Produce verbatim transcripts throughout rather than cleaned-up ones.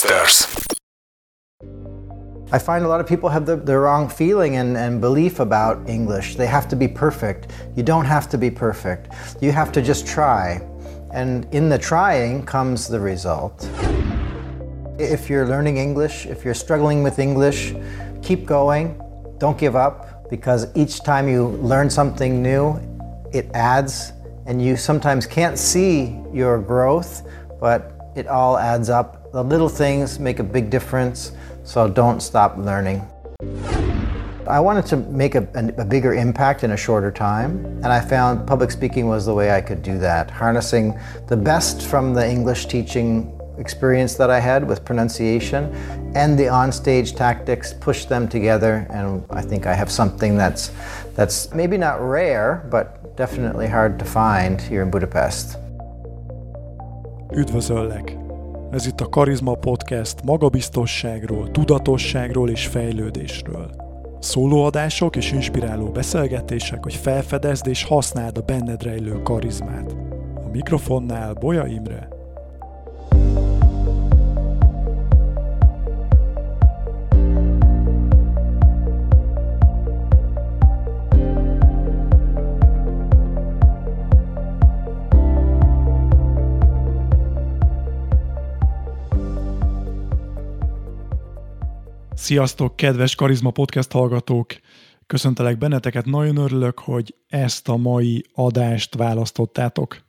Podcasters. I find a lot of people have the, the wrong feeling and, and belief about English. They have to be perfect. You don't have to be perfect. You have to just try. And in the trying comes the result. If you're learning English, if you're struggling with English, keep going. Don't give up, because each time you learn something new, it adds, and you sometimes can't see your growth, but it all adds up. The little things make a big difference, so don't stop learning. I wanted to make a, a, a bigger impact in a shorter time, and I found public speaking was the way I could do that, harnessing the best from the English teaching experience that I had with pronunciation and the onstage tactics, push them together, and I think I have something that's that's maybe not rare, but definitely hard to find here in Budapest. Üdvözöllek! Ez itt a Karizma Podcast magabiztosságról, tudatosságról és fejlődésről. Szólóadások és inspiráló beszélgetések, hogy felfedezd és használd a benned rejlő karizmát. A mikrofonnál Bolya Imre. Sziasztok, kedves Karizma Podcast hallgatók! Köszöntelek benneteket, nagyon örülök, hogy ezt a mai adást választottátok.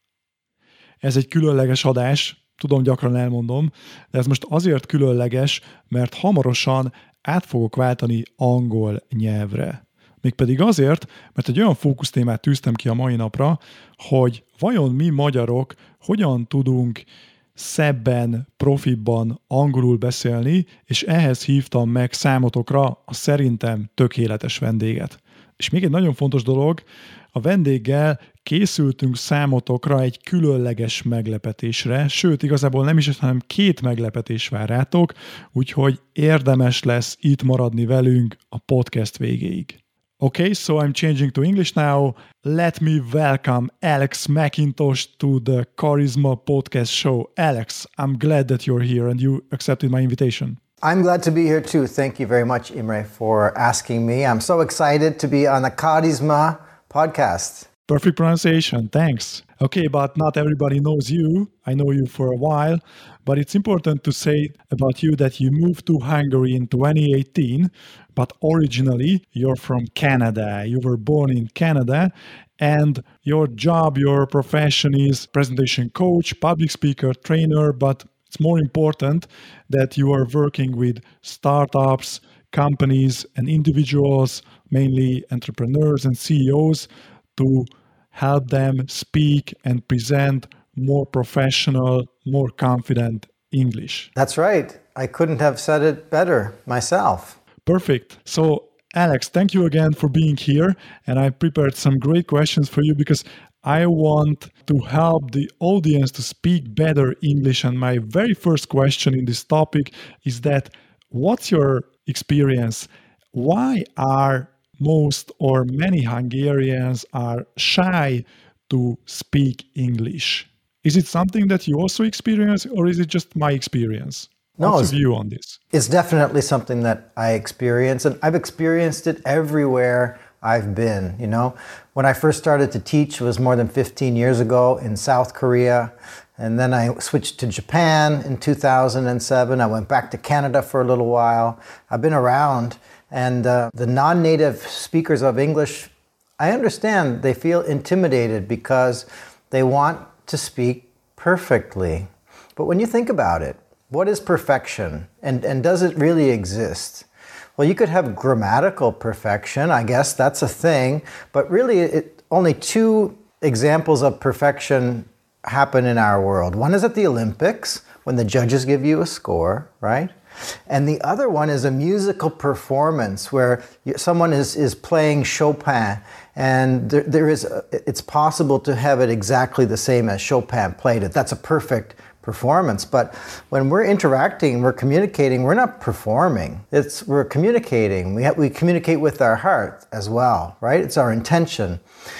Ez egy különleges adás, tudom, gyakran elmondom, de ez most azért különleges, mert hamarosan át fogok váltani angol nyelvre. Mégpedig azért, mert egy olyan fókusztémát tűztem ki a mai napra, hogy vajon mi magyarok hogyan tudunk szebben, profibban angolul beszélni, és ehhez hívtam meg számotokra a szerintem tökéletes vendéget. És még egy nagyon fontos dolog, a vendéggel készültünk számotokra egy különleges meglepetésre, sőt, igazából nem is, hanem két meglepetés vár rátok, úgyhogy érdemes lesz itt maradni velünk a podcast végéig. Okay, so I'm changing to English now. Let me welcome Alex McIntosh to the Karizma Podcast show. Alex, I'm glad that you're here and you accepted my invitation. I'm glad to be here too. Thank you very much, Imre, for asking me. I'm so excited to be on the Karizma podcast. Perfect pronunciation, thanks. Okay, but not everybody knows you. I know you for a while, but it's important to say about you that you moved to Hungary in twenty eighteen, but originally you're from Canada. You were born in Canada, and your job, your profession is presentation coach, public speaker, trainer, but it's more important that you are working with startups, companies, and individuals, mainly entrepreneurs and C E Os, to help them speak and present more professional, more confident English. That's right. I couldn't have said it better myself. Perfect. So, Alex, thank you again for being here. And I prepared some great questions for you because I want to help the audience to speak better English. And my very first question in this topic is that, what's your experience? Why are most or many Hungarians are shy to speak English? Is it something that you also experience, or is it just my experience? No, What's your view on this? It's definitely something that I experience, and I've experienced it everywhere I've been. You know, when I first started to teach, it was more than fifteen years ago in South Korea, and then I switched to Japan in two thousand seven. I went back to Canada for a little while. I've been around. And uh, the non-native speakers of English, I understand they feel intimidated because they want to speak perfectly. But when you think about it, what is perfection? And, and does it really exist? Well, you could have grammatical perfection, I guess that's a thing, but really it, only two examples of perfection happen in our world. One is at the Olympics, when the judges give you a score, right? And the other one is a musical performance where someone is, is playing Chopin, and there, there is a, it's possible to have it exactly the same as Chopin played it. That's a perfect performance. But when we're interacting, we're communicating, we're not performing. It's we're communicating. We have, we communicate with our heart as well, right? It's our intention.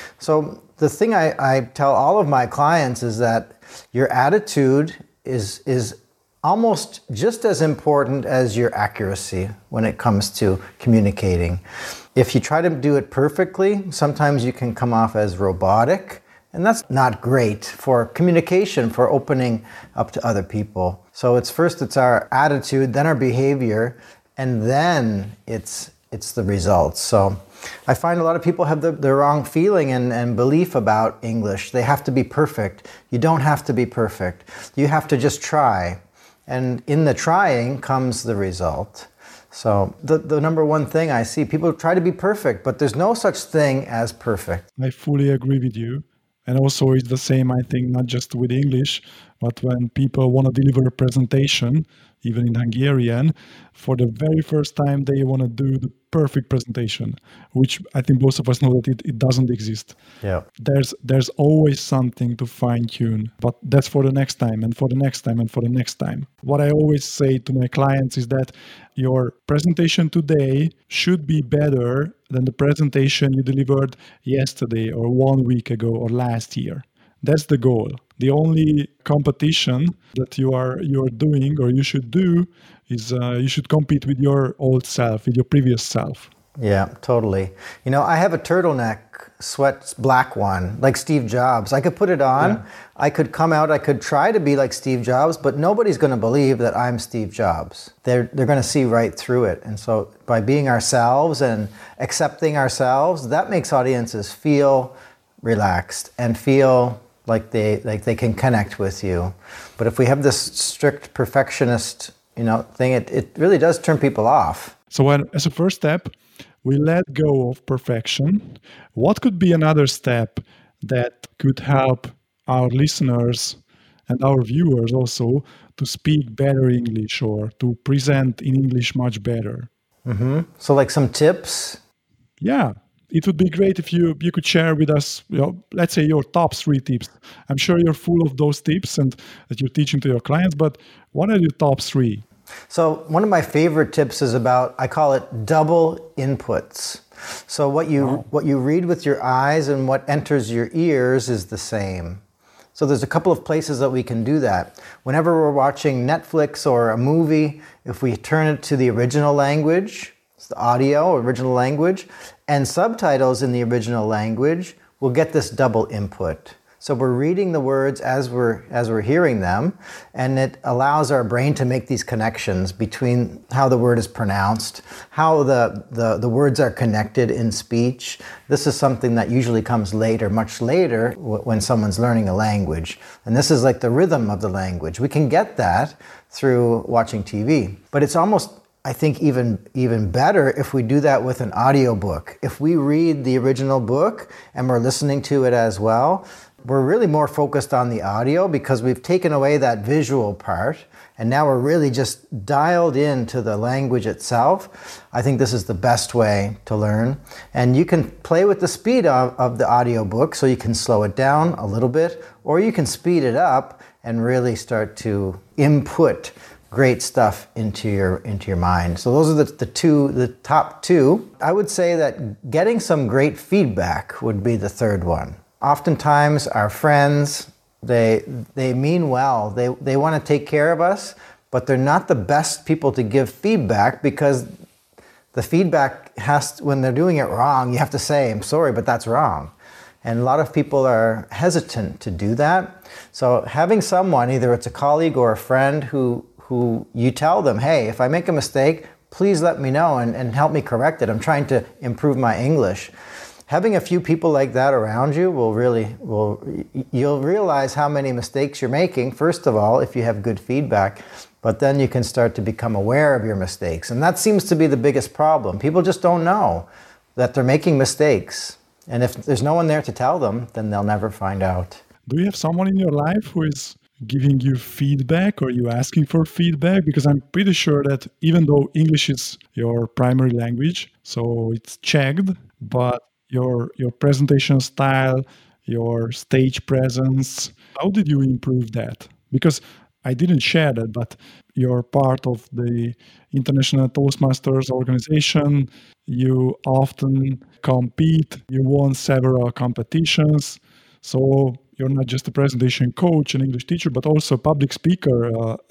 So the thing I, I tell all of my clients is that your attitude is is almost just as important as your accuracy when it comes to communicating. If you try to do it perfectly, sometimes you can come off as robotic, and that's not great for communication, for opening up to other people. So it's first it's our attitude, then our behavior, and then it's it's the results. So I find a lot of people have the, the wrong feeling and, and belief about English. They have to be perfect. You don't have to be perfect. You have to just try. And in the trying comes the result. So the, the number one thing I see, people try to be perfect, but there's no such thing as perfect. I fully agree with you. And also it's the same, I think, not just with English, but when people want to deliver a presentation, even in Hungarian, for the very first time they want to do the perfect presentation, which I think both of us know that it, it doesn't exist. Yeah. There's there's always something to fine-tune, but that's for the next time and for the next time and for the next time. What I always say to my clients is that your presentation today should be better than the presentation you delivered yesterday or one week ago or last year. That's the goal. The only competition that you are you are doing or you should do is uh, you should compete with your old self, with your previous self. Yeah, totally. You know, I have a turtleneck sweat, black one, like Steve Jobs. I could put it on. Yeah. I could come out. I could try to be like Steve Jobs, but nobody's going to believe that I'm Steve Jobs. They're they're going to see right through it. And so by being ourselves and accepting ourselves, that makes audiences feel relaxed and feel like they like they can connect with you. But if we have this strict perfectionist, you know, thing, it, it really does turn people off. So when, as a first step, we let go of perfection. What could be another step that could help our listeners and our viewers also to speak better English or to present in English much better? Mm-hmm. So like some tips? Yeah. It would be great if you, you could share with us, you know, let's say your top three tips. I'm sure you're full of those tips and that you're teaching to your clients, but what are your top three? So one of my favorite tips is about, I call it double inputs. So what you oh. what you read with your eyes and what enters your ears is the same. So there's a couple of places that we can do that. Whenever we're watching Netflix or a movie, if we turn it to the original language, it's the audio, original language, and subtitles in the original language, we'll get this double input. So we're reading the words as we're as we're hearing them, and it allows our brain to make these connections between how the word is pronounced, how the, the, the words are connected in speech. This is something that usually comes later, much later, w- when someone's learning a language. And this is like the rhythm of the language. We can get that through watching T V. But it's almost, I think, even even better if we do that with an audiobook. If we read the original book and we're listening to it as well, we're really more focused on the audio because we've taken away that visual part and now we're really just dialed into the language itself. I think this is the best way to learn. And you can play with the speed of, of the audiobook, so you can slow it down a little bit, or you can speed it up and really start to input great stuff into your into your mind. So those are the, the two, the top two. I would say that getting some great feedback would be the third one. Oftentimes our friends, they they mean well. They they want to take care of us, but they're not the best people to give feedback because the feedback has to, when they're doing it wrong, you have to say, I'm sorry, but that's wrong. And a lot of people are hesitant to do that. So having someone, either it's a colleague or a friend who who you tell them, hey, if I make a mistake, please let me know and, and help me correct it. I'm trying to improve my English. Having a few people like that around you will really, will you'll realize how many mistakes you're making, first of all, if you have good feedback, but then you can start to become aware of your mistakes. And that seems to be the biggest problem. People just don't know that they're making mistakes. And if there's no one there to tell them, then they'll never find out. Do you have someone in your life who is giving you feedback, or are you asking for feedback? Because I'm pretty sure that even though English is your primary language, so it's checked, but your your presentation style, your stage presence, how did you improve that? Because I didn't share that, but you're part of the International Toastmasters organization. You often compete. You won several competitions. So you're not just a presentation coach, an English teacher, but also a public speaker, uh, an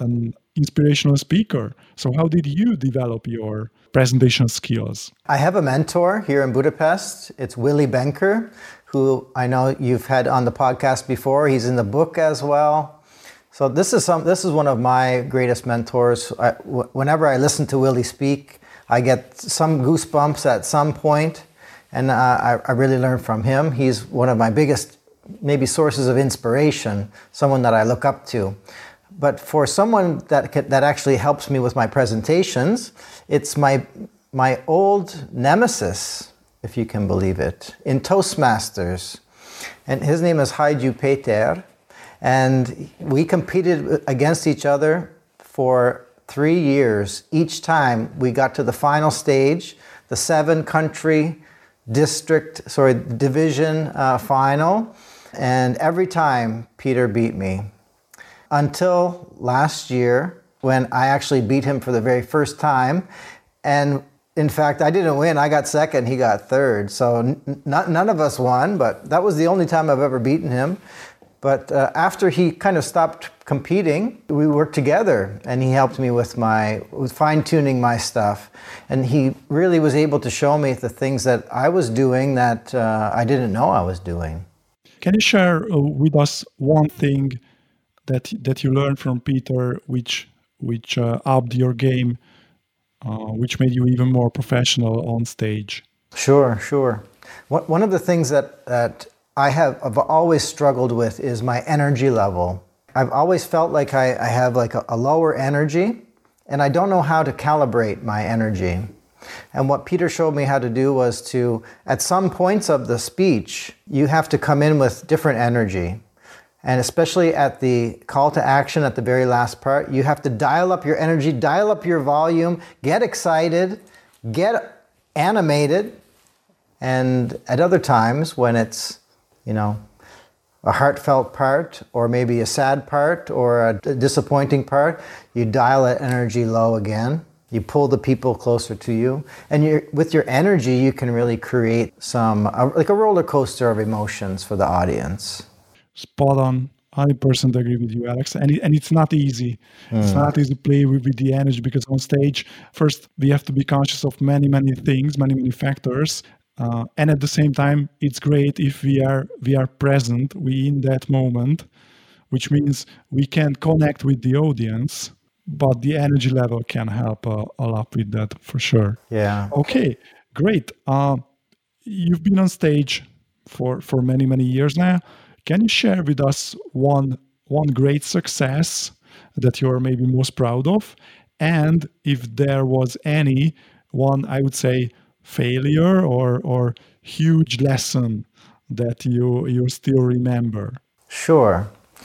inspirational speaker. So how did you develop your presentation skills? I have a mentor here in Budapest. It's Willy Benker, who I know you've had on the podcast before. He's in the book as well. So this is some. This is one of my greatest mentors. I, w- whenever I listen to Willy speak, I get some goosebumps at some point, and uh, I, I really learn from him. He's one of my biggest, maybe, sources of inspiration, someone that I look up to. But for someone that that actually helps me with my presentations, it's my my old nemesis, if you can believe it, in Toastmasters. And his name is Hajdú Péter. And we competed against each other for three years. Each time we got to the final stage, the seven country district, sorry, division uh, final. And every time Peter beat me. Until last year, when I actually beat him for the very first time. And in fact, I didn't win. I got second, he got third. So n- none of us won, but that was the only time I've ever beaten him. But uh, after he kind of stopped competing, we worked together, and he helped me with my with fine-tuning my stuff. And he really was able to show me the things that I was doing that uh, I didn't know I was doing. Can you share uh, with us one thing that that you learned from Peter, which which uh, upped your game, uh, which made you even more professional on stage? Sure, sure. One one of the things that that I have I've always struggled with is my energy level. I've always felt like I, I have like a, a lower energy, and I don't know how to calibrate my energy. And what Peter showed me how to do was to, at some points of the speech, you have to come in with different energy. And especially at the call to action at the very last part, you have to dial up your energy, dial up your volume, get excited, get animated. And at other times when it's, you know, a heartfelt part, or maybe a sad part, or a disappointing part, you dial that energy low again. You pull the people closer to you, and you're, with your energy, you can really create some, uh, like a roller coaster of emotions for the audience. Spot on. I one hundred percent agree with you, Alex. And, it, and it's not easy. Mm. It's not easy to play with, with the energy, because on stage, first, we have to be conscious of many, many things, many, many factors. Uh, and at the same time, it's great if we are we are present, we in that moment, which means we can connect with the audience, but the energy level can help uh, a lot with that for sure. Yeah. Okay, great. Uh, you've been on stage for, for many, many years now. Can you share with us one one great success that you're maybe most proud of? And if there was any one, I would say, failure or or huge lesson that you you still remember? Sure.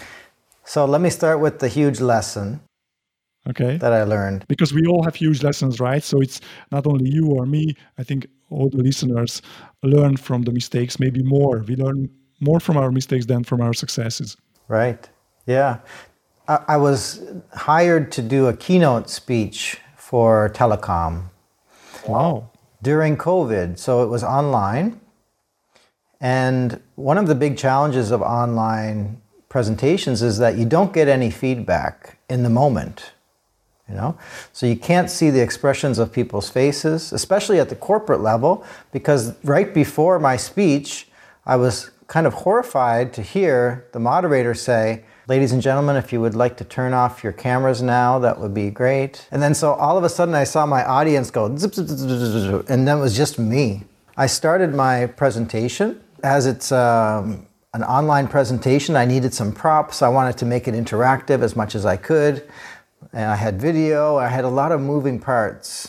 So let me start with the huge lesson. Okay. That I learned. Because we all have huge lessons, right? So it's not only you or me. I think all the listeners learn from the mistakes, maybe more. We learn more from our mistakes than from our successes. Right. Yeah. I, I was hired to do a keynote speech for telecom. Wow. During COVID, so it was online. And one of the big challenges of online presentations is that you don't get any feedback in the moment, you know? So you can't see the expressions of people's faces, especially at the corporate level, because right before my speech, I was kind of horrified to hear the moderator say, "Ladies and gentlemen, if you would like to turn off your cameras now, that would be great." And then so all of a sudden I saw my audience go zip, zip, zip, zip, zip, and then it was just me. I started my presentation. As it's um, an online presentation, I needed some props. I wanted to make it interactive as much as I could. And I had video. I had a lot of moving parts.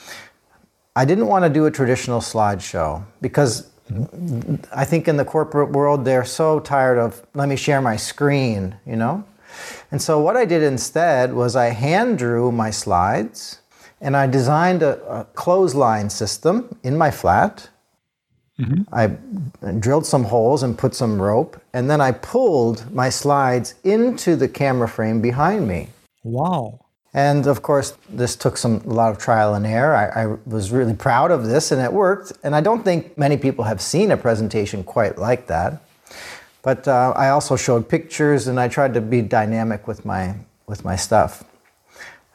I didn't want to do a traditional slideshow because I think in the corporate world, they're so tired of, let me share my screen, you know? And so what I did instead was I hand drew my slides, and I designed a, a clothesline system in my flat. Mm-hmm. I drilled some holes and put some rope, and then I pulled my slides into the camera frame behind me. Wow. And of course, this took some a lot of trial and error. I, I was really proud of this, and it worked. And I don't think many people have seen a presentation quite like that. But uh, I also showed pictures, and I tried to be dynamic with my with my stuff.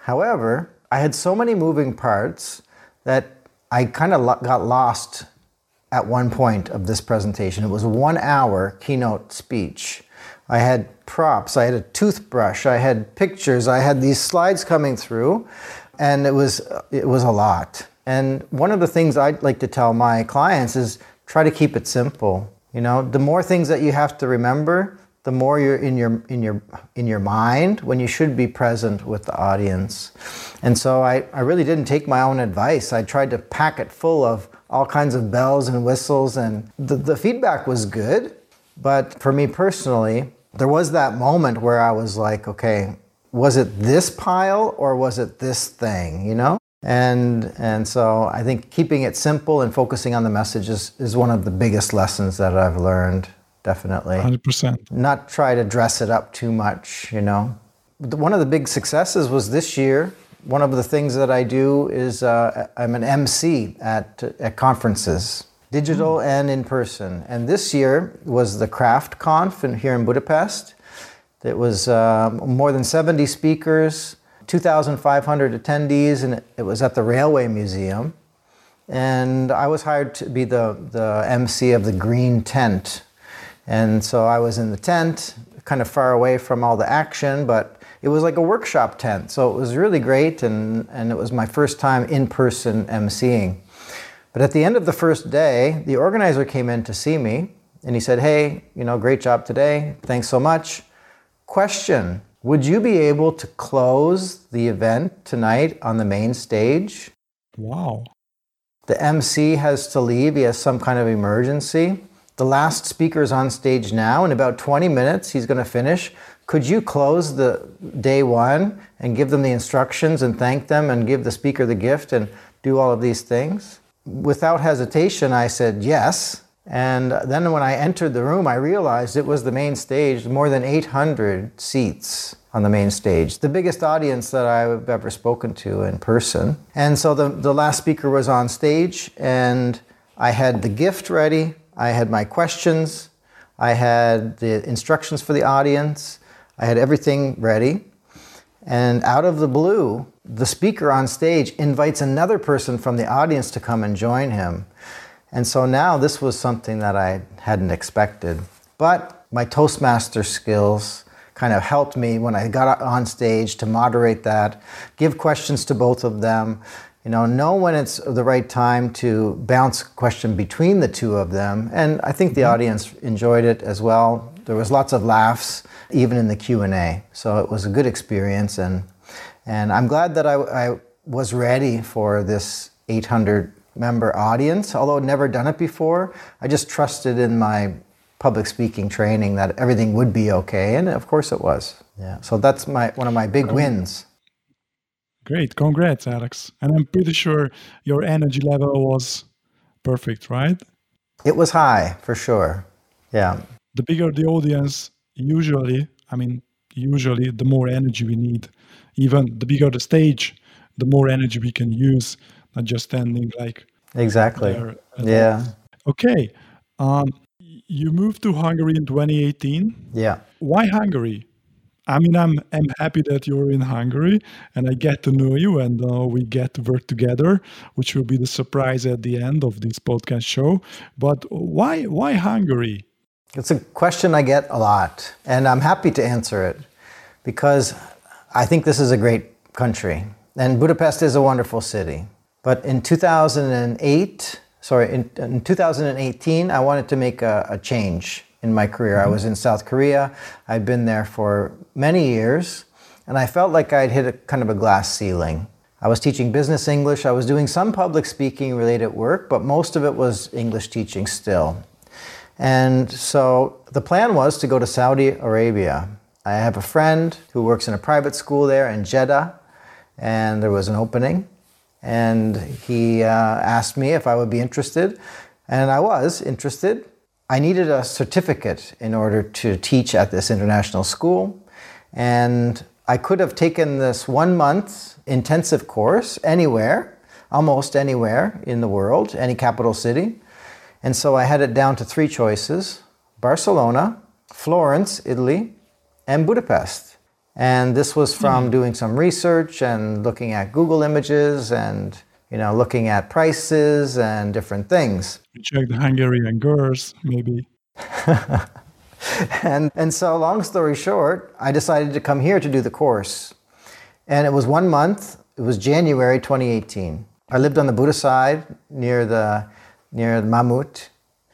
However, I had so many moving parts that I kind of lo- got lost at one point of this presentation. It was a one hour keynote speech. I had props, I had a toothbrush, I had pictures, I had these slides coming through, and it was it was a lot. And one of the things I'd like to tell my clients is try to keep it simple. You know, the more things that you have to remember, the more you're in your in your in your mind when you should be present with the audience. And so I, I really didn't take my own advice. I tried to pack it full of all kinds of bells and whistles, and the, the feedback was good. But for me personally, there was that moment where I was like, okay, was it this pile or was it this thing, you know? And and so I think keeping it simple and focusing on the message is, is one of the biggest lessons that I've learned, definitely. one hundred percent. Not try to dress it up too much, you know? One of the big successes was this year. One of the things that I do is uh, I'm an M C at, at conferences, digital mm. and in person. And this year was the Craft Conf in, here in Budapest. It was uh, more than seventy speakers, two thousand five hundred attendees, and it was at the Railway Museum. And I was hired to be the, the M C of the green tent. And so I was in the tent, kind of far away from all the action, but it was like a workshop tent. So it was really great, and, and it was my first time in person emceeing. But at the end of the first day, the organizer came in to see me, and he said, hey, you know, great job today. Thanks so much. Question, would you be able to close the event tonight on the main stage? Wow. The M C has to leave. He has some kind of emergency. The last speaker is on stage now. In about twenty minutes, he's going to finish. Could you close the day one and give them the instructions and thank them and give the speaker the gift and do all of these things? Without hesitation, I said yes. And then when I entered the room, I realized it was the main stage, more than eight hundred seats on the main stage, the biggest audience that I've ever spoken to in person. And so the, the last speaker was on stage, and I had the gift ready, I had my questions, I had the instructions for the audience, I had everything ready. And out of the blue, the speaker on stage invites another person from the audience to come and join him. And so now this was something that I hadn't expected. But my Toastmaster skills kind of helped me when I got on stage to moderate that, give questions to both of them, you know, know when it's the right time to bounce a question between the two of them. And I think the mm-hmm. audience enjoyed it as well. There was lots of laughs, even in the Q and A. So it was a good experience. And and I'm glad that I, I was ready for this eight hundred member audience. Although I'd never done it before, I just trusted in my public speaking training that everything would be okay. And of course it was. Yeah. So that's my one of my big wins. Great. Congrats, Alex. And I'm pretty sure your energy level was perfect, right? It was high, for sure. Yeah. The bigger the audience, usually, I mean, usually the more energy we need. Even the bigger the stage, the more energy we can use, not just standing like exactly. there. Yeah. Okay. Um, you moved to Hungary in twenty eighteen. Yeah. Why Hungary? I mean, I'm I'm happy that you're in Hungary and I get to know you, and uh, we get to work together, which will be the surprise at the end of this podcast show. But why why Hungary? It's a question I get a lot, and I'm happy to answer it because I think this is a great country, and Budapest is a wonderful city. But in two thousand eight, sorry, in, in two thousand eighteen, I wanted to make a, a change in my career. Mm-hmm. I was in South Korea. I'd been there for many years, and I felt like I'd hit a kind of a glass ceiling. I was teaching business English. I was doing some public speaking related work, but most of it was English teaching still. And so the plan was to go to Saudi Arabia. I have a friend who works in a private school there in Jeddah, and there was an opening. And he uh, asked me if I would be interested, and I was interested. I needed a certificate in order to teach at this international school, and I could have taken this one month intensive course anywhere, almost anywhere in the world, any capital city. And so I had it down to three choices: Barcelona, Florence, Italy, and Budapest. And this was from doing some research and looking at Google Images and, you know, looking at prices and different things. You check the Hungarian girls, maybe. and and so long story short, I decided to come here to do the course. And it was one month. It was January twenty eighteen. I lived on the Buda side near the near the Mamut.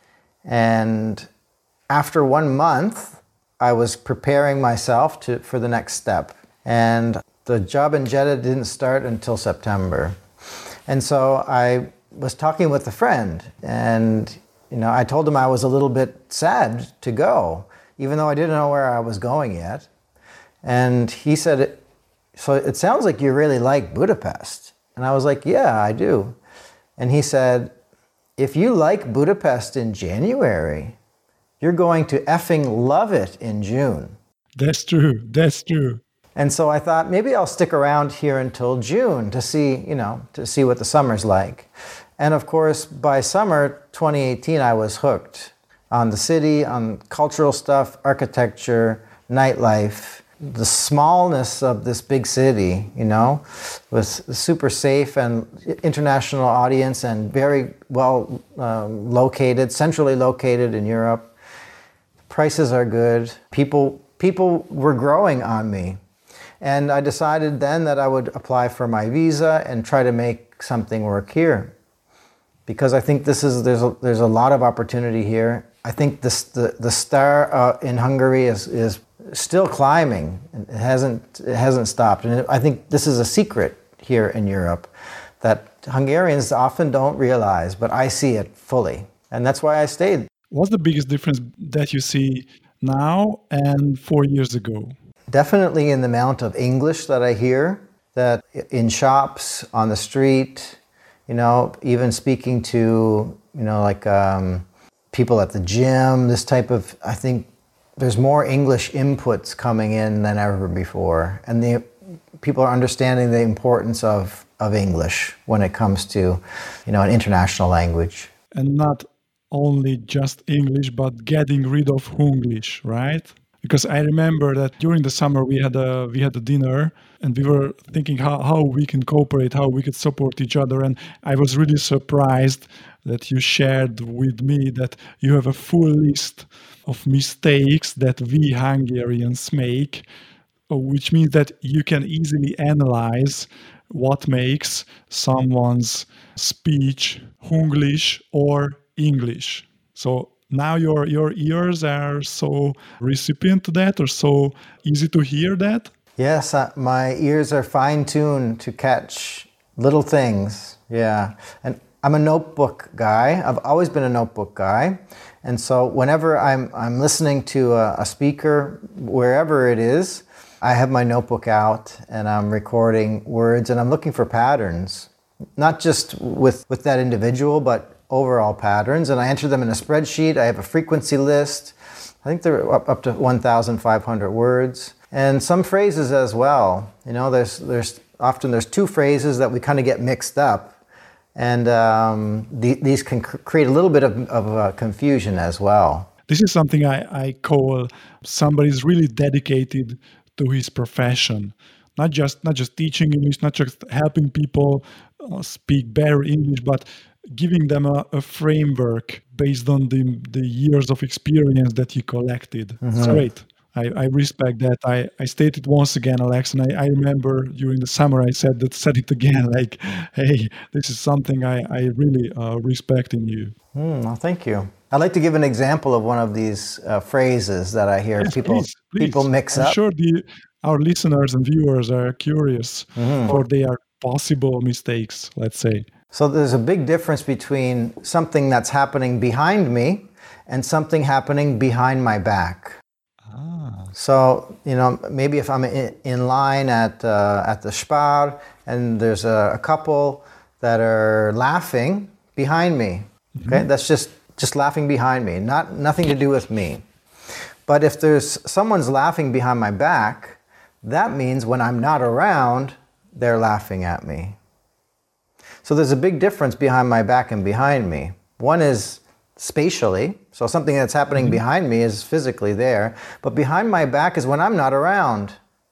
And after one month, I was preparing myself to for the next step. And the job in Jeddah didn't start until September. And so I was talking with a friend, and you know, I told him I was a little bit sad to go, even though I didn't know where I was going yet. And he said, so it sounds like you really like Budapest. And I was like, yeah, I do. And he said, if you like Budapest in January, you're going to effing love it in June. That's true. That's true. And so I thought maybe I'll stick around here until June to see, you know, to see what the summer's like. And of course, by summer twenty eighteen, I was hooked on the city, on cultural stuff, architecture, nightlife, the smallness of this big city, you know, was super safe and international audience and very well um, located, centrally located in Europe. Prices are good. People people were growing on me. And I decided then that I would apply for my visa and try to make something work here. Because I think this is there's a, there's a lot of opportunity here. I think this, the the star uh, in Hungary is is still climbing. It hasn't it hasn't stopped. And I think this is a secret here in Europe that Hungarians often don't realize, but I see it fully. And that's why I stayed. What's the biggest difference that you see now and four years ago? Definitely in the amount of English that I hear, that in shops, on the street, you know, even speaking to, you know, like um, people at the gym, this type of, I think there's more English inputs coming in than ever before. And the people are understanding the importance of, of English when it comes to, you know, an international language. And not only just English, but getting rid of Hunglish, right? Because I remember that during the summer we had a we had a dinner and we were thinking how, how we can cooperate, how we could support each other. And I was really surprised that you shared with me that you have a full list of mistakes that we Hungarians make, which means that you can easily analyze what makes someone's speech Hunglish or English. So now your your ears are so recipient to that, or so easy to hear that? Yes, uh, my ears are fine-tuned to catch little things. Yeah. And I'm a notebook guy. I've always been a notebook guy. And so whenever I'm I'm listening to a, a speaker, wherever it is, I have my notebook out and I'm recording words and I'm looking for patterns, not just with, with that individual, but overall patterns. And I enter them in a spreadsheet. I have a frequency list. I think they're up, up to one thousand five hundred words. And some phrases as well. You know, there's there's often there's two phrases that we kind of get mixed up. And um, the, these can cr- create a little bit of, of uh, confusion as well. This is something I, I call somebody's really dedicated to his profession. Not just not just teaching English, not just helping people uh, speak better English, but giving them a, a framework based on the the years of experience that he collected. Mm-hmm. It's great. I, I respect that. I, I stated once again, Alex, and I, I remember during the summer I said that said it again, like, hey, this is something I, I really uh, respect in you. Mm, well, thank you. I'd like to give an example of one of these uh, phrases that I hear yes, people please, please. people mix I'm up. I'm sure the, our listeners and viewers are curious, mm-hmm. or they are possible mistakes, let's say. So there's a big difference between something that's happening behind me and something happening behind my back. Ah. So, you know, maybe if I'm in, in line at uh, at the Spar and there's a, a couple that are laughing behind me, okay, mm-hmm. that's just, just laughing behind me, not nothing to do with me. But if there's someone's laughing behind my back, that means when I'm not around, they're laughing at me. So there's a big difference behind my back and behind me. One is spatially, so something that's happening mm-hmm. behind me is physically there, but behind my back is when I'm not around.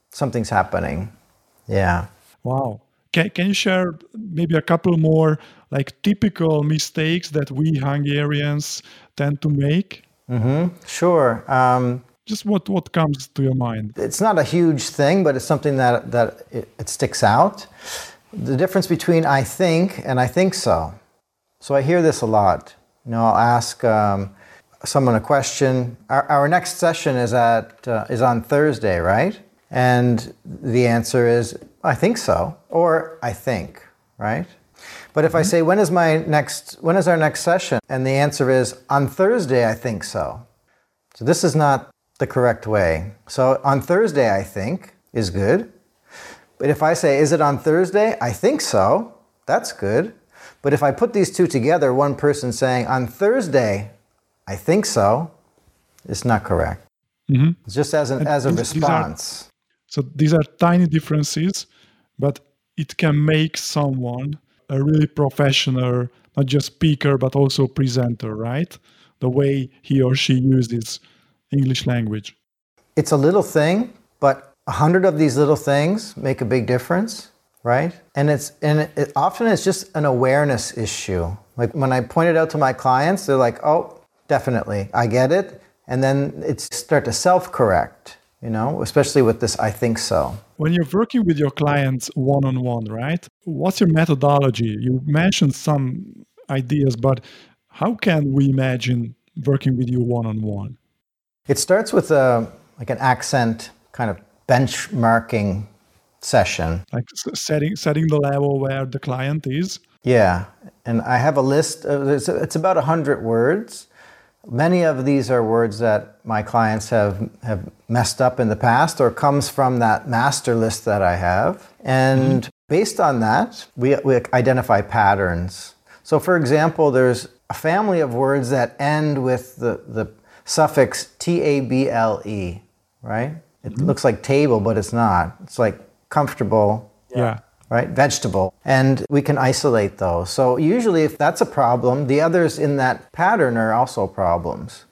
something's happening. Yeah. Wow. Can, can you share maybe a couple more like typical mistakes that we Hungarians tend to make? Mm-hmm. Sure. Um, Just what, what comes to your mind? it's not a huge thing, but it's something that, that it, it sticks out. The difference between I think and I think so. So I hear this a lot. You know, I'll ask um, someone a question. Our, our next session is at uh, is on Thursday, right? And the answer is I think so, or I think, right? But if I say when is my next when is our next session, and the answer is on Thursday, I think so. So this is not the correct way. So on Thursday, I think is good. But if I say, is it on Thursday? I think so. That's good. But if I put these two together, one person saying, on Thursday, I think so, it's not correct. Mm-hmm. It's just as, an, as a these, response. These are, so these are tiny differences, but it can make someone a really professional, not just speaker, but also presenter, right? The way he or she uses English language. It's a little thing, but a hundred of these little things make a big difference, right? And it's and it, it often it's just an awareness issue. Like when I point it out to my clients, they're like, "Oh, definitely, I get it," and then it's start to self-correct. You know, especially with this, I think so. When you're working with your clients one-on-one, right? What's your methodology? You mentioned some ideas, but how can we imagine working with you one-on-one? It starts with a like an accent kind of benchmarking session. Like setting setting the level where the client is. Yeah, and I have a list of, it's, it's about one hundred words. Many of these are words that my clients have, have messed up in the past or comes from that master list that I have. And mm-hmm. based on that, we, we identify patterns. So for example, there's a family of words that end with the, the suffix T A B L E, right? It mm-hmm. looks like table, but it's not. It's like comfortable, yeah, right? Vegetable. And we can isolate those. So usually if that's a problem, the others in that pattern are also problems.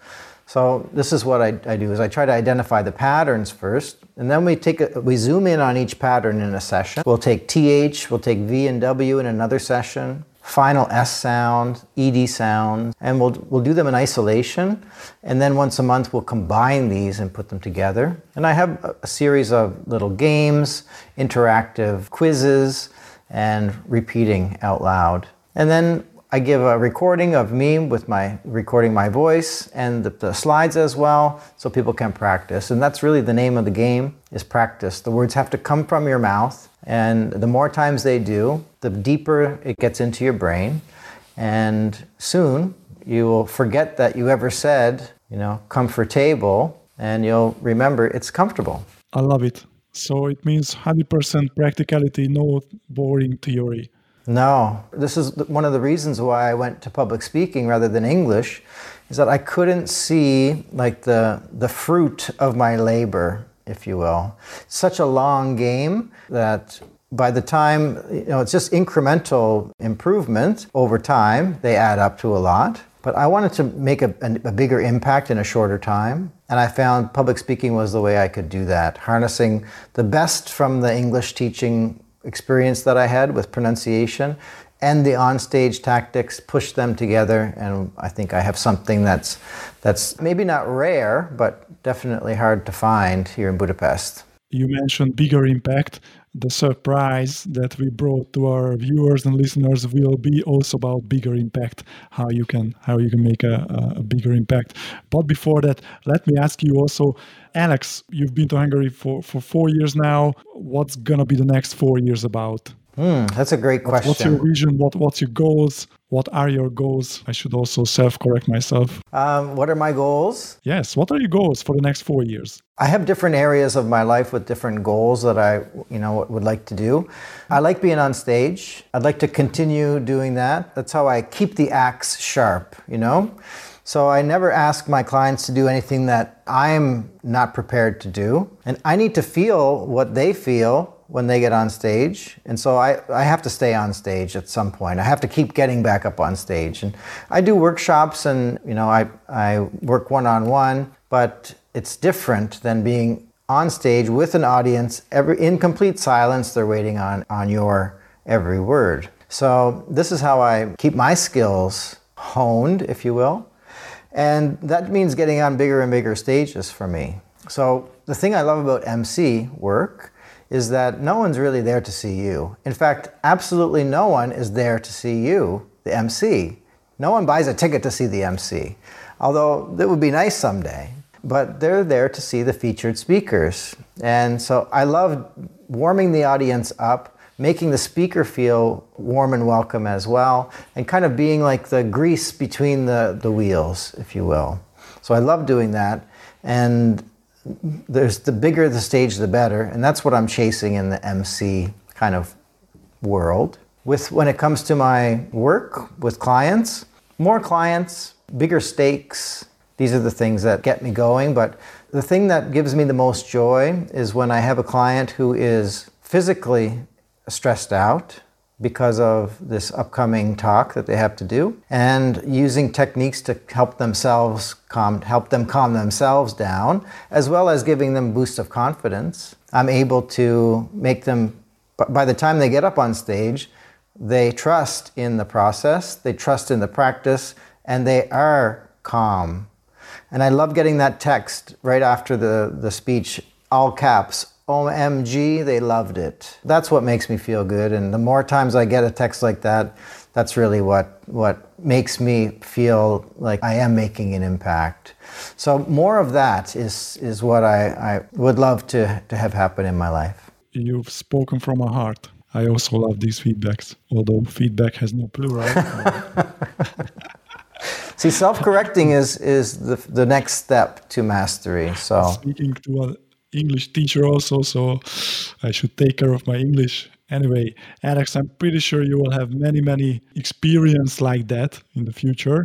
So this is what I, I do, is I try to identify the patterns first, and then we take a, we zoom in on each pattern in a session. We'll take T H, we'll take V and W in another session, final S sound, E D sound, and we'll we'll do them in isolation, and then once a month we'll combine these and put them together. And I have a, a series of little games, interactive quizzes, and repeating out loud. And then I give a recording of me with my recording my voice and the, the slides as well, so people can practice. And that's really the name of the game, is practice. The words have to come from your mouth, and the more times they do, the deeper it gets into your brain. And soon you will forget that you ever said, you know, comfortable, and you'll remember it's comfortable. I love it. So it means one hundred percent practicality, no boring theory. No, this is one of the reasons why I went to public speaking rather than English, is that I couldn't see like the the fruit of my labor, if you will. It's such a long game that by the time, you know, it's just incremental improvement over time. They add up to a lot. But I wanted to make a, a, a bigger impact in a shorter time. And I found public speaking was the way I could do that, harnessing the best from the English teaching experience that I had with pronunciation and the onstage tactics, push them together, and I think I have something that's that's maybe not rare, but definitely hard to find here in Budapest. You mentioned bigger impact. The surprise that we brought to our viewers and listeners will be also about bigger impact, how you can how you can make a, a bigger impact. But before that, let me ask you also, Alex, you've been to Hungary for, for four years now. What's going to be the next four years about? Hmm, that's a great question. What's your vision? What, what's your goals? What are your goals? I should also self-correct myself. Um, what are my goals? Yes, what are your goals for the next four years? I have different areas of my life with different goals that I, you know, would like to do. I like being on stage. I'd like to continue doing that. That's how I keep the axe sharp, you know? So I never ask my clients to do anything that I'm not prepared to do. And I need to feel what they feel when they get on stage. And so I, I have to stay on stage at some point. I have to keep getting back up on stage. And I do workshops and, you know, I, I work one-on-one, but it's different than being on stage with an audience, every, in complete silence, they're waiting on, on your every word. So this is how I keep my skills honed, if you will. And that means getting on bigger and bigger stages for me. So the thing I love about M C work is that no one's really there to see you. In fact, absolutely no one is there to see you, the M C. No one buys a ticket to see the M C, although that would be nice someday. But they're there to see the featured speakers. And so I love warming the audience up, making the speaker feel warm and welcome as well, and kind of being like the grease between the, the wheels, if you will. So I love doing that. And there's the bigger the stage, the better. And that's what I'm chasing in the M C kind of world. With when it comes to my work with clients, more clients, bigger stakes, these are the things that get me going. But the thing that gives me the most joy is when I have a client who is physically stressed out because of this upcoming talk that they have to do, and using techniques to help themselves calm, help them calm themselves down, as well as giving them a boost of confidence. I'm able to make them, by the time they get up on stage, they trust in the process, they trust in the practice, and they are calm. And I love getting that text right after the, the speech, all caps, O M G, they loved it. That's what makes me feel good. And the more times I get a text like that, that's really what, what makes me feel like I am making an impact. So more of that is, is what I, I would love to, to have happen in my life. You've spoken from my heart. I also love these feedbacks, although feedback has no plural. See, self-correcting is, is the, the next step to mastery. So speaking to an English teacher also, so I should take care of my English. Anyway, Alex, I'm pretty sure you will have many, many experience like that in the future.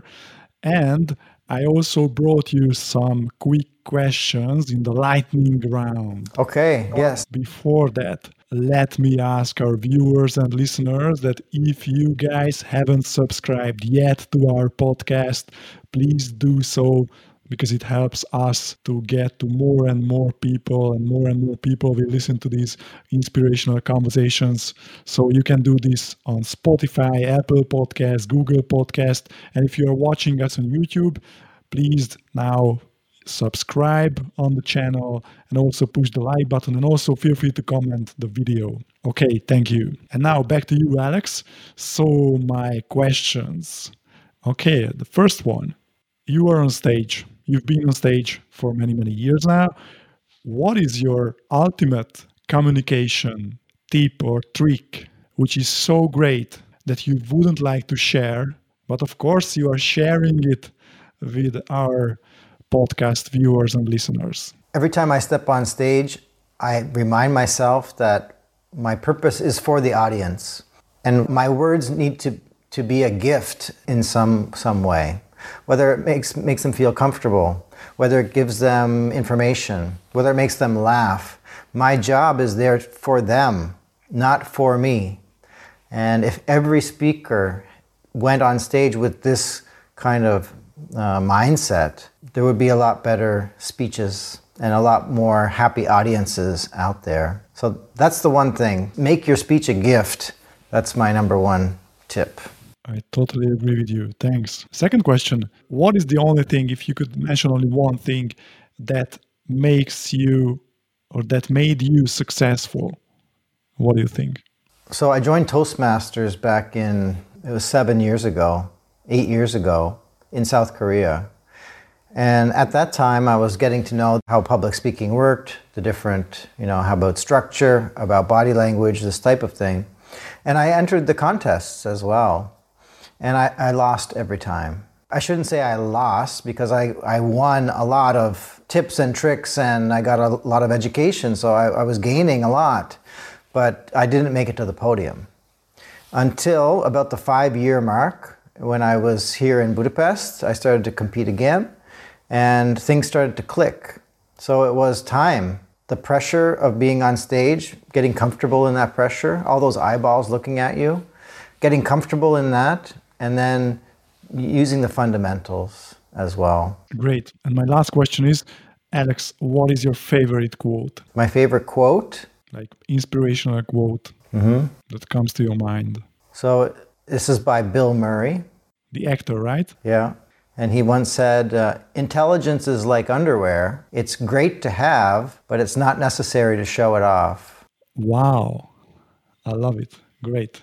And I also brought you some quick questions in the lightning round. Okay, yes. Before that, let me ask our viewers and listeners that if you guys haven't subscribed yet to our podcast, please do so, because it helps us to get to more and more people, and more and more people will listen to these inspirational conversations. So you can do this on Spotify, Apple Podcasts, Google Podcast. And if you are watching us on YouTube, please now subscribe on the channel and also push the like button, and also feel free to comment the video. Okay, thank you. And now back to you, Alex. So my questions. Okay, the first one. You are on stage. You've been on stage for many, many years now. What is your ultimate communication tip or trick, which is so great that you wouldn't like to share, but of course you are sharing it with our podcast viewers and listeners? Every time I step on stage, I remind myself that my purpose is for the audience, and my words need to, to be a gift in some, some way. Whether it makes, makes them feel comfortable, whether it gives them information, whether it makes them laugh. My job is there for them, not for me. And if every speaker went on stage with this kind of uh, mindset, there would be a lot better speeches and a lot more happy audiences out there. So that's the one thing. Make your speech a gift. That's my number one tip. I totally agree with you. Thanks. Second question. What is the only thing, if you could mention only one thing, that makes you or that made you successful? What do you think? So I joined Toastmasters back in, it was seven years ago, eight years ago in South Korea. And at that time, I was getting to know how public speaking worked, the different, you know, how about structure, about body language, this type of thing. And I entered the contests as well. And I, I lost every time. I shouldn't say I lost, because I, I won a lot of tips and tricks, and I got a lot of education, so I, I was gaining a lot. But I didn't make it to the podium. Until about the five-year mark, when I was here in Budapest, I started to compete again, and things started to click. So it was time. The pressure of being on stage, getting comfortable in that pressure, all those eyeballs looking at you, getting comfortable in that, and then using the fundamentals as well. Great. And my last question is, Alex, what is your favorite quote? My favorite quote? Like inspirational quote mm-hmm. that comes to your mind. So this is by Bill Murray. The actor, right? Yeah. And he once said, uh, intelligence is like underwear. It's great to have, but it's not necessary to show it off. Wow. I love it. Great.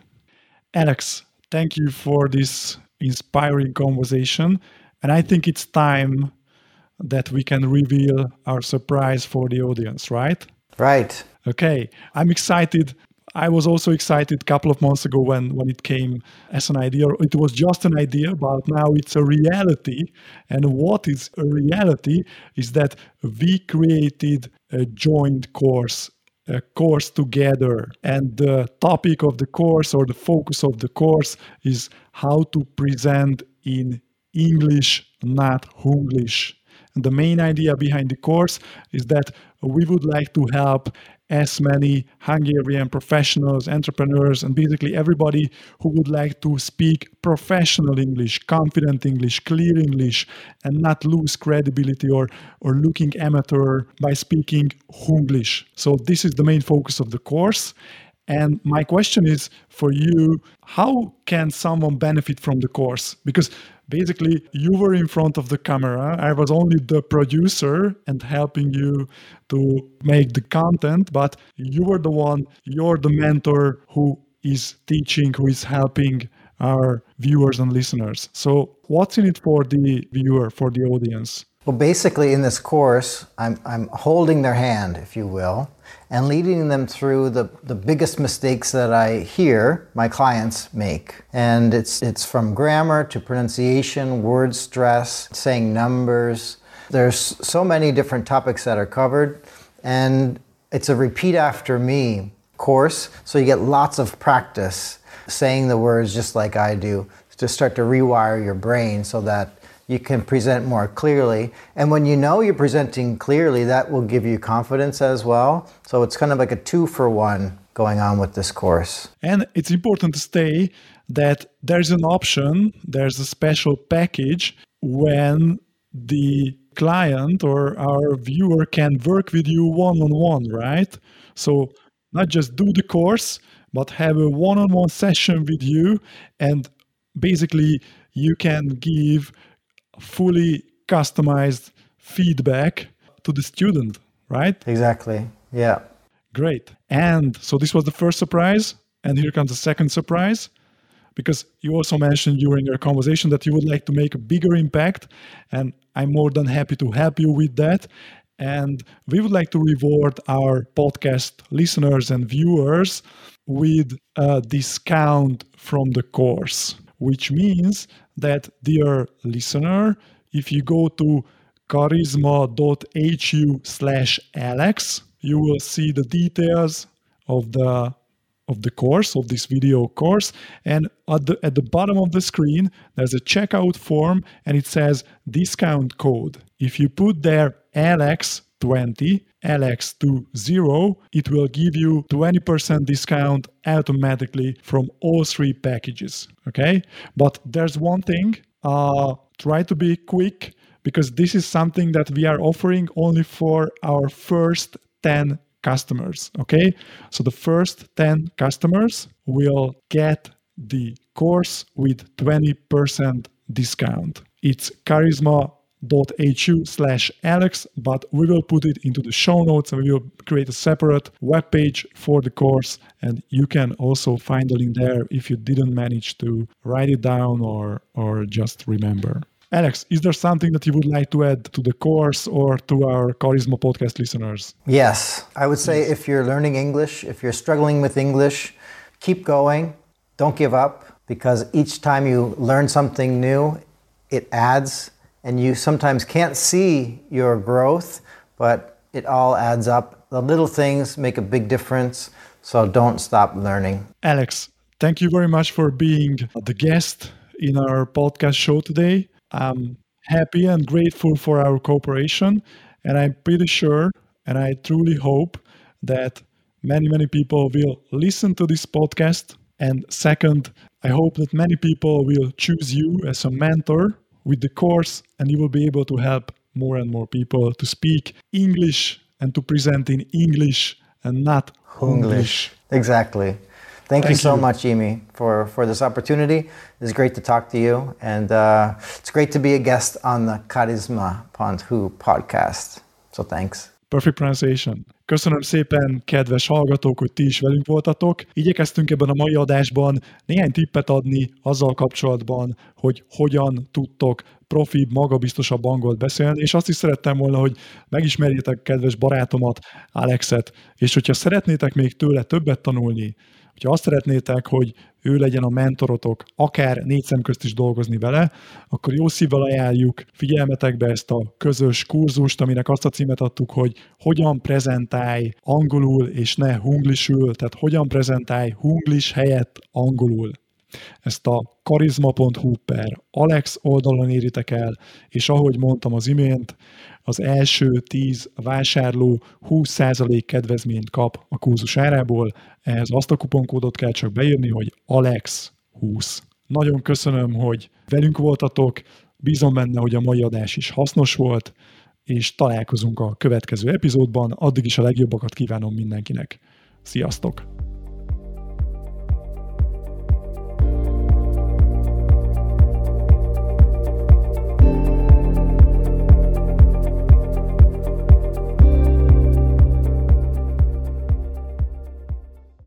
Alex, thank you for this inspiring conversation. And I think it's time that we can reveal our surprise for the audience, right? Right. Okay. I'm excited. I was also excited a couple of months ago when, when it came as an idea. It was just an idea, but now it's a reality. And what is a reality is that we created a joint course, a course together. And the topic of the course or the focus of the course is how to present in English, not Hunglish. And the main idea behind the course is that we would like to help as many Hungarian professionals, entrepreneurs, and basically everybody who would like to speak professional English, confident English, clear English, and not lose credibility or, or looking amateur by speaking Hunglish. So this is the main focus of the course. And my question is for you, how can someone benefit from the course? Because basically you were in front of the camera. I was only the producer and helping you to make the content, but you were the one, you're the mentor who is teaching, who is helping our viewers and listeners. So what's in it for the viewer, for the audience? Well, basically in this course, I'm, I'm holding their hand, if you will, and leading them through the, the biggest mistakes that I hear my clients make. And it's, it's from grammar to pronunciation, word stress, saying numbers. There's so many different topics that are covered, and it's a repeat after me course, so you get lots of practice saying the words just like I do, to start to rewire your brain so that you can present more clearly. And when you know you're presenting clearly, that will give you confidence as well. So it's kind of like a two for one going on with this course. And it's important to say that there's an option, there's a special package when the client or our viewer can work with you one-on-one, right? So not just do the course, but have a one-on-one session with you, and basically you can give fully customized feedback to the student, right? Exactly. Yeah. Great. And so this was the first surprise. And here comes the second surprise, because you also mentioned during your conversation that you would like to make a bigger impact. And I'm more than happy to help you with that. And we would like to reward our podcast listeners and viewers with a discount from the course, which means that, dear listener, if you go to charisma.hu slash Alex, you will see the details of the of the course, of this video course. And at the, at the bottom of the screen, there's a checkout form and it says discount code. If you put there Alex twenty, Alex twenty, it will give you twenty percent discount automatically from all three packages, okay? But there's one thing, uh, try to be quick, because this is something that we are offering only for our first ten customers, okay? So the first ten customers will get the course with twenty percent discount. It's charisma.hu slash Alex, but we will put it into the show notes and we will create a separate webpage for the course, and you can also find the link there if you didn't manage to write it down or or just remember. Alex, is there something that you would like to add to the course or to our Charisma podcast listeners? Yes, I would say if you're learning English, if you're struggling with English, keep going. Don't give up, because each time you learn something new, it adds, and you sometimes can't see your growth, but it all adds up. The little things make a big difference, so don't stop learning. Alex, thank you very much for being the guest in our podcast show today. I'm happy and grateful for our cooperation, and I'm pretty sure, and I truly hope, that many, many people will listen to this podcast. And second, I hope that many people will choose you as a mentor with the course, and you will be able to help more and more people to speak English and to present in English and not English. Exactly. Thank, Thank you so you. much, Imi, for, for this opportunity. It's great to talk to you, and uh, it's great to be a guest on the Karizma pont hu podcast. So thanks. Perfect pronunciation. Köszönöm szépen, kedves hallgatók, hogy ti is velünk voltatok. Igyekeztünk ebben a mai adásban néhány tippet adni azzal kapcsolatban, hogy hogyan tudtok profibb, magabiztosabb angolt beszélni, és azt is szerettem volna, hogy megismerjétek kedves barátomat, Alexet, és hogyha szeretnétek még tőle többet tanulni, hogyha azt szeretnétek, hogy ő legyen a mentorotok, akár négy szem közt is dolgozni vele, akkor jó szívvel ajánljuk figyelmetekbe ezt a közös kurzust, aminek azt a címet adtuk, hogy hogyan prezentálj angolul és ne hunglisul, tehát hogyan prezentálj hunglis helyett angolul. Ezt a karizma pont hu per Alex oldalon éritek el, és ahogy mondtam az imént, az első tíz vásárló húsz százalék kedvezményt kap a kurzus árából, ehhez azt a kuponkódot kell csak beírni, hogy Alex húsz. Nagyon köszönöm, hogy velünk voltatok, bízom benne, hogy a mai adás is hasznos volt, és találkozunk a következő epizódban, addig is a legjobbakat kívánom mindenkinek. Sziasztok!